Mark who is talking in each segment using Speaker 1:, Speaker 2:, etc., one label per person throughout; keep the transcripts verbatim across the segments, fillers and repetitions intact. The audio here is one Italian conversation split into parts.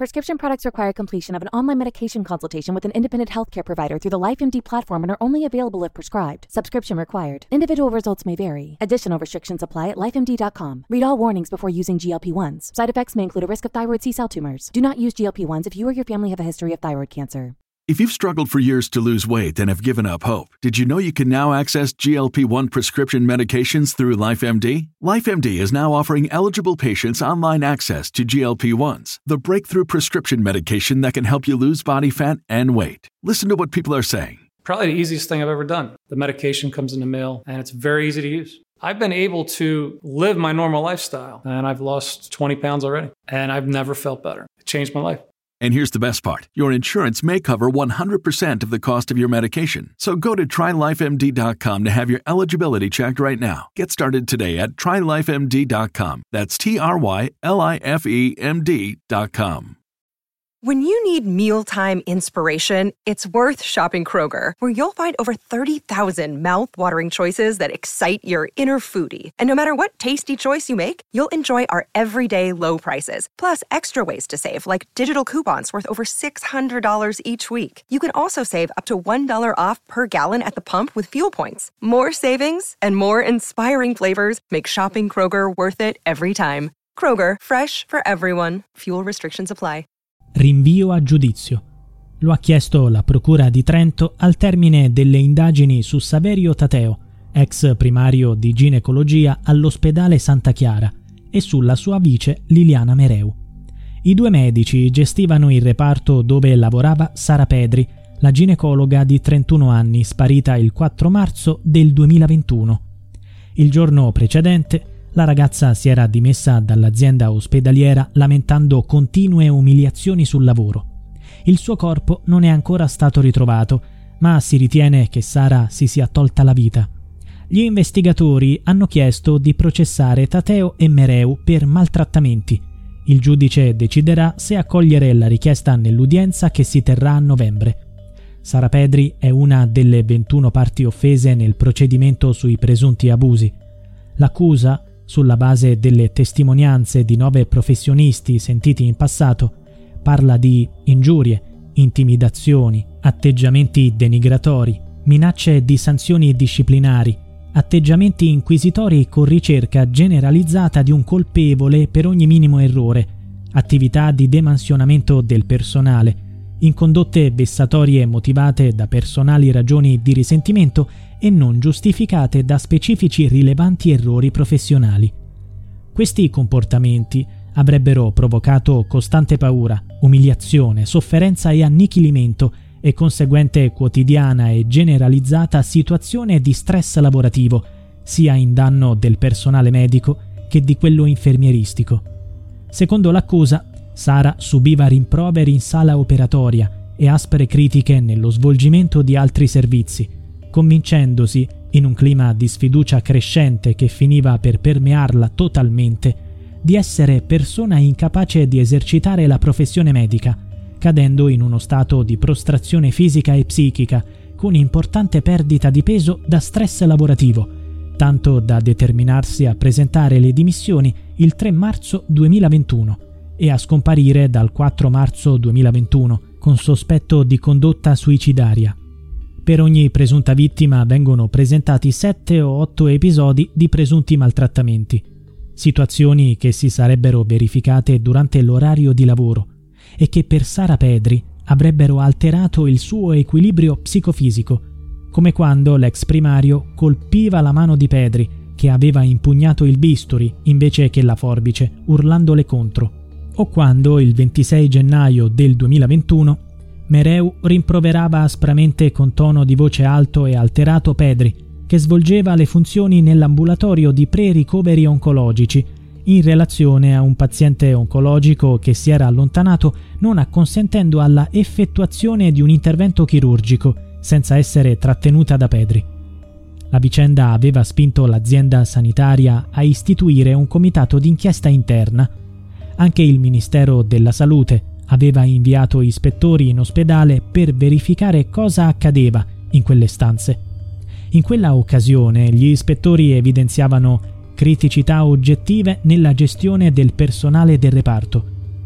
Speaker 1: Prescription products require completion of an online medication consultation with an independent healthcare provider through the LifeMD platform and are only available if prescribed. Subscription required. Individual results may vary. Additional restrictions apply at life M D dot com. Read all warnings before using G L P one s. Side effects may include a risk of thyroid C-cell tumors. Do not use G L P one s if you or your family have a history of thyroid cancer.
Speaker 2: If you've struggled for years to lose weight and have given up hope, did you know you can now access G L P one prescription medications through LifeMD? LifeMD is now offering eligible patients online access to G L P one s, the breakthrough prescription medication that can help you lose body fat and weight. Listen to what people are saying.
Speaker 3: Probably the easiest thing I've ever done. The medication comes in the mail, and it's very easy to use. I've been able to live my normal lifestyle, and I've lost twenty pounds already, and I've never felt better. It changed my life.
Speaker 2: And here's the best part. Your insurance may cover one hundred percent of the cost of your medication. So go to try life M D dot com to have your eligibility checked right now. Get started today at try life M D dot com. That's T R Y L I F E M D dot com.
Speaker 4: When you need mealtime inspiration, it's worth shopping Kroger, where you'll find over thirty thousand mouth-watering choices that excite your inner foodie. And no matter what tasty choice you make, you'll enjoy our everyday low prices, plus extra ways to save, like digital coupons worth over six hundred dollars each week. You can also save up to one dollar off per gallon at the pump with fuel points. More savings and more inspiring flavors make shopping Kroger worth it every time. Kroger, fresh for everyone. Fuel restrictions apply.
Speaker 5: Rinvio a giudizio. Lo ha chiesto la Procura di Trento al termine delle indagini su Saverio Tateo, ex primario di ginecologia all'ospedale Santa Chiara, e sulla sua vice Liliana Mereu. I due medici gestivano il reparto dove lavorava Sara Pedri, la ginecologa di trentuno anni sparita il quattro marzo del duemilaventuno. Il giorno precedente la ragazza si era dimessa dall'azienda ospedaliera lamentando continue umiliazioni sul lavoro. Il suo corpo non è ancora stato ritrovato, ma si ritiene che Sara si sia tolta la vita. Gli investigatori hanno chiesto di processare Tateo e Mereu per maltrattamenti. Il giudice deciderà se accogliere la richiesta nell'udienza che si terrà a novembre. Sara Pedri è una delle ventuno parti offese nel procedimento sui presunti abusi. L'accusa, sulla base delle testimonianze di nove professionisti sentiti in passato, parla di ingiurie, intimidazioni, atteggiamenti denigratori, minacce di sanzioni disciplinari, atteggiamenti inquisitori con ricerca generalizzata di un colpevole per ogni minimo errore, attività di demansionamento del personale, in condotte vessatorie motivate da personali ragioni di risentimento e non giustificate da specifici rilevanti errori professionali. Questi comportamenti avrebbero provocato costante paura, umiliazione, sofferenza e annichilimento e conseguente quotidiana e generalizzata situazione di stress lavorativo, sia in danno del personale medico che di quello infermieristico. Secondo l'accusa, Sara subiva rimproveri in sala operatoria e aspre critiche nello svolgimento di altri servizi, convincendosi, in un clima di sfiducia crescente che finiva per permearla totalmente, di essere persona incapace di esercitare la professione medica, cadendo in uno stato di prostrazione fisica e psichica, con importante perdita di peso da stress lavorativo, tanto da determinarsi a presentare le dimissioni il tre marzo duemilaventuno e a scomparire dal quattro marzo duemilaventuno con sospetto di condotta suicidaria. Per ogni presunta vittima vengono presentati sette o otto episodi di presunti maltrattamenti, situazioni che si sarebbero verificate durante l'orario di lavoro e che per Sara Pedri avrebbero alterato il suo equilibrio psicofisico, come quando l'ex primario colpiva la mano di Pedri, che aveva impugnato il bisturi invece che la forbice, urlandole contro, o quando il ventisei gennaio del duemilaventuno Mereu rimproverava aspramente con tono di voce alto e alterato Pedri, che svolgeva le funzioni nell'ambulatorio di pre-ricoveri oncologici, in relazione a un paziente oncologico che si era allontanato non acconsentendo alla effettuazione di un intervento chirurgico, senza essere trattenuta da Pedri. La vicenda aveva spinto l'azienda sanitaria a istituire un comitato d'inchiesta interna. Anche il Ministero della Salute aveva inviato ispettori in ospedale per verificare cosa accadeva in quelle stanze. In quella occasione gli ispettori evidenziavano criticità oggettive nella gestione del personale del reparto.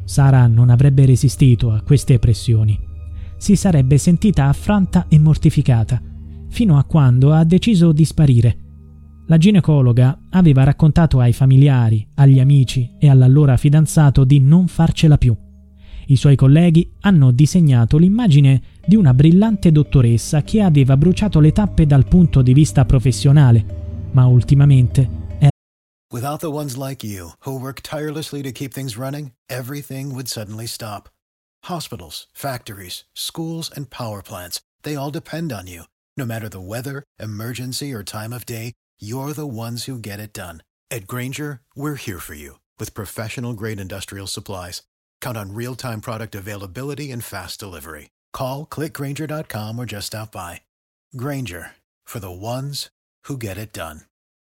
Speaker 5: Sara non avrebbe resistito a queste pressioni. Si sarebbe sentita affranta e mortificata, fino a quando ha deciso di sparire. La ginecologa aveva raccontato ai familiari, agli amici e all'allora fidanzato di non farcela più. I suoi colleghi hanno disegnato l'immagine di una brillante dottoressa che aveva bruciato le tappe dal punto di vista professionale, ma ultimamente era...
Speaker 6: Without the ones like you, who work tirelessly to keep things running, everything would suddenly stop. Hospitals, factories, schools, and power plants, they all depend on you. No matter the weather, emergency, or time of day, you're the ones who get it done. At Grainger, we're here for you with professional-grade industrial supplies. Count on real-time product availability and fast delivery. Call, click Grainger dot com or just stop by. Grainger, for the ones who get it done.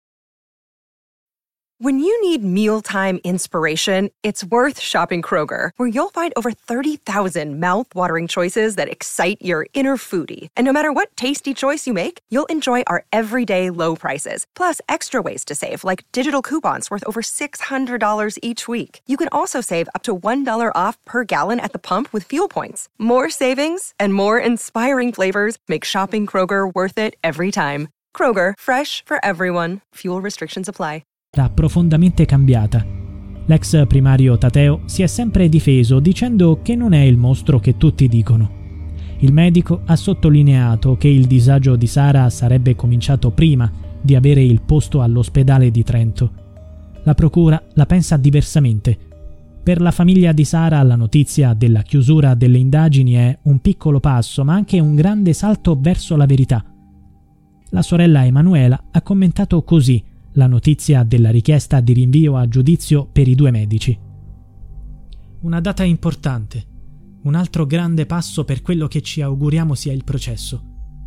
Speaker 4: When you need mealtime inspiration, it's worth shopping Kroger, where you'll find over thirty thousand mouth-watering choices that excite your inner foodie. And no matter what tasty choice you make, you'll enjoy our everyday low prices, plus extra ways to save, like digital coupons worth over six hundred dollars each week. You can also save up to one dollar off per gallon at the pump with fuel points. More savings and more inspiring flavors make shopping Kroger worth it every time. Kroger, fresh for everyone. Fuel restrictions apply.
Speaker 5: Era profondamente cambiata. L'ex primario Tateo si è sempre difeso dicendo che non è il mostro che tutti dicono. Il medico ha sottolineato che il disagio di Sara sarebbe cominciato prima di avere il posto all'ospedale di Trento. La procura la pensa diversamente. Per la famiglia di Sara la notizia della chiusura delle indagini è un piccolo passo, ma anche un grande salto verso la verità. La sorella Emanuela ha commentato così la notizia della richiesta di rinvio a giudizio per i due medici. Una data importante, un altro grande passo per quello che ci auguriamo sia il processo.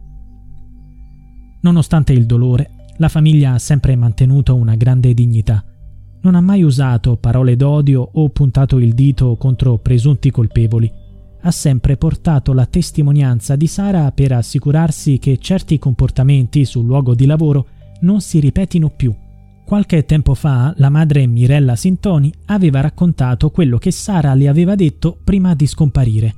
Speaker 5: Nonostante il dolore, la famiglia ha sempre mantenuto una grande dignità. Non ha mai usato parole d'odio o puntato il dito contro presunti colpevoli. Ha sempre portato la testimonianza di Sara per assicurarsi che certi comportamenti sul luogo di lavoro non si ripetino più. Qualche tempo fa la madre Mirella Sintoni aveva raccontato quello che Sara le aveva detto prima di scomparire.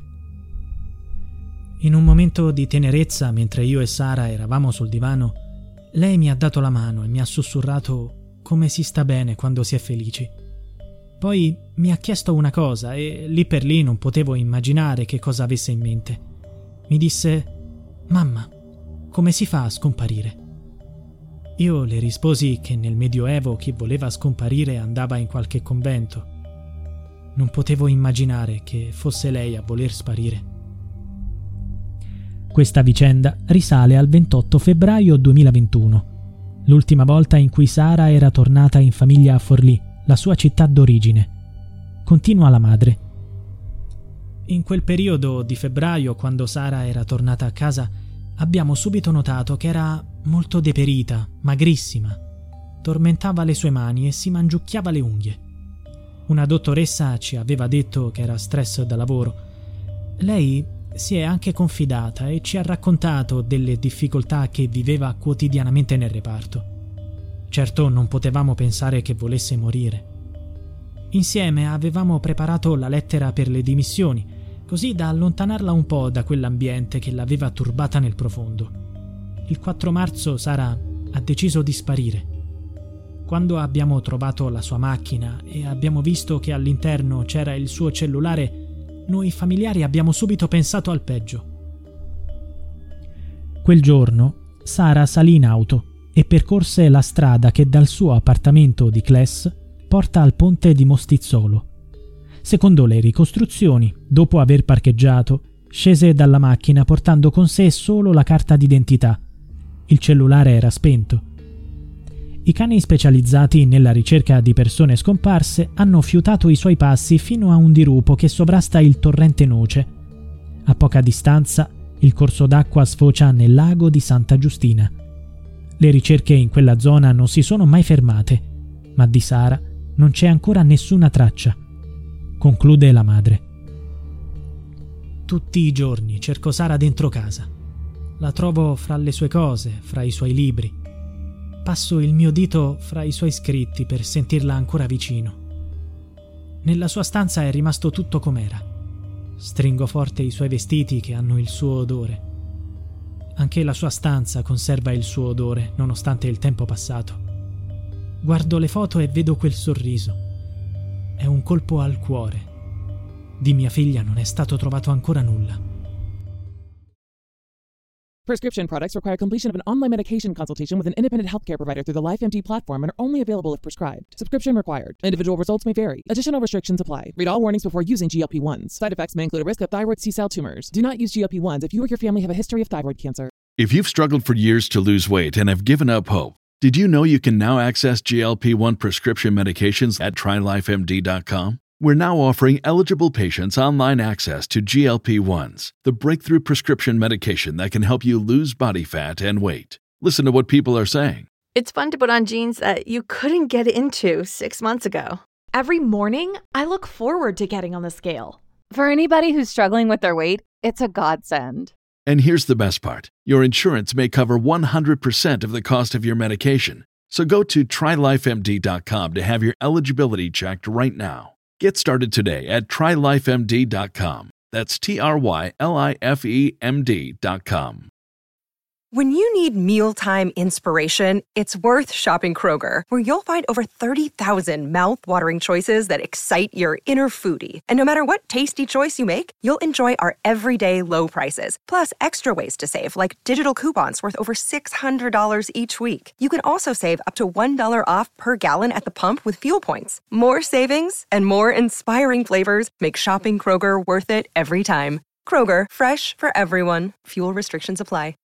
Speaker 5: In un momento di tenerezza, mentre io e Sara eravamo sul divano, lei mi ha dato la mano e mi ha sussurrato come si sta bene quando si è felici. Poi mi ha chiesto una cosa e lì per lì non potevo immaginare che cosa avesse in mente. Mi disse: «Mamma, come si fa a scomparire?» Io le risposi che nel Medioevo chi voleva scomparire andava in qualche convento. Non potevo immaginare che fosse lei a voler sparire. Questa vicenda risale al ventotto febbraio duemilaventuno, l'ultima volta in cui Sara era tornata in famiglia a Forlì, la sua città d'origine. Continua la madre. In quel periodo di febbraio, quando Sara era tornata a casa, abbiamo subito notato che era molto deperita, magrissima. Tormentava le sue mani e si mangiucchiava le unghie. Una dottoressa ci aveva detto che era stress da lavoro. Lei si è anche confidata e ci ha raccontato delle difficoltà che viveva quotidianamente nel reparto. Certo, non potevamo pensare che volesse morire. Insieme avevamo preparato la lettera per le dimissioni, così da allontanarla un po' da quell'ambiente che l'aveva turbata nel profondo. Il quattro marzo Sara ha deciso di sparire. Quando abbiamo trovato la sua macchina e abbiamo visto che all'interno c'era il suo cellulare, noi familiari abbiamo subito pensato al peggio. Quel giorno Sara salì in auto e percorse la strada che dal suo appartamento di Cles porta al ponte di Mostizzolo. Secondo le ricostruzioni, dopo aver parcheggiato, scese dalla macchina portando con sé solo la carta d'identità. Il cellulare era spento. I cani specializzati nella ricerca di persone scomparse hanno fiutato i suoi passi fino a un dirupo che sovrasta il torrente Noce. A poca distanza, il corso d'acqua sfocia nel lago di Santa Giustina. Le ricerche in quella zona non si sono mai fermate, ma di Sara non c'è ancora nessuna traccia. Conclude la madre. Tutti i giorni cerco Sara dentro casa. La trovo fra le sue cose, fra i suoi libri. Passo il mio dito fra i suoi scritti per sentirla ancora vicino. Nella sua stanza è rimasto tutto com'era. Stringo forte i suoi vestiti che hanno il suo odore. Anche la sua stanza conserva il suo odore, nonostante il tempo passato. Guardo le foto e vedo quel sorriso. È un colpo al cuore. Di mia figlia non è stato trovato ancora nulla.
Speaker 7: Prescription products require completion of an online medication consultation with an independent healthcare provider through the LifeMD platform and are only available if prescribed. Subscription required. Individual results may vary. Additional restrictions apply. Read all warnings before using G L P ones. Side effects may include a risk of thyroid C-cell tumors. Do not use G L P ones if you or your family have a history of thyroid cancer.
Speaker 2: If you've struggled for years to lose weight and have given up hope, did you know you can now access G L P one prescription medications at try life M D dot com? We're now offering eligible patients online access to G L P ones, the breakthrough prescription medication that can help you lose body fat and weight. Listen to what people are saying.
Speaker 8: It's fun to put on jeans that you couldn't get into six months ago.
Speaker 9: Every morning, I look forward to getting on the scale.
Speaker 10: For anybody who's struggling with their weight, it's a godsend.
Speaker 2: And here's the best part. Your insurance may cover one hundred percent of the cost of your medication. So go to try life M D dot com to have your eligibility checked right now. Get started today at try life M D dot com. That's T R Y L I F E M D dot com.
Speaker 4: When you need mealtime inspiration, it's worth shopping Kroger, where you'll find over thirty thousand mouth-watering choices that excite your inner foodie. And no matter what tasty choice you make, you'll enjoy our everyday low prices, plus extra ways to save, like digital coupons worth over six hundred dollars each week. You can also save up to one dollar off per gallon at the pump with fuel points. More savings and more inspiring flavors make shopping Kroger worth it every time. Kroger, fresh for everyone. Fuel restrictions apply.